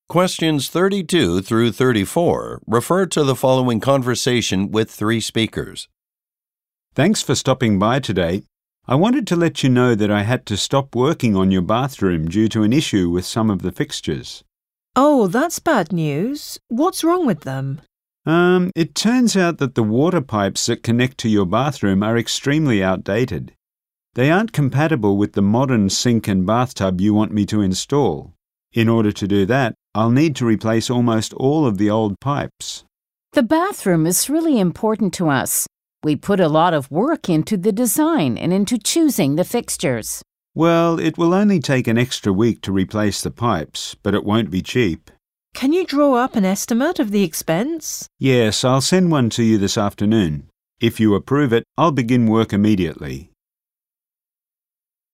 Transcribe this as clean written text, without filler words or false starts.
Questions 32 through 34 refer to the following conversation with three speakers. Thanks for stopping by today. I wanted to let you know that I had to stop working on your bathroom due to an issue with some of the fixtures. Oh, that's bad news. What's wrong with them? It turns out that the water pipes that connect to your bathroom are extremely outdated. They aren't compatible with the modern sink and bathtub you want me to install. In order to do that, I'll need to replace almost all of the old pipes. The bathroom is really important to us. We put a lot of work into the design and into choosing the fixtures. Well, it will only take an extra week to replace the pipes, but it won't be cheap. Can you draw up an estimate of the expense? Yes, I'll send one to you this afternoon. If you approve it, I'll begin work immediately.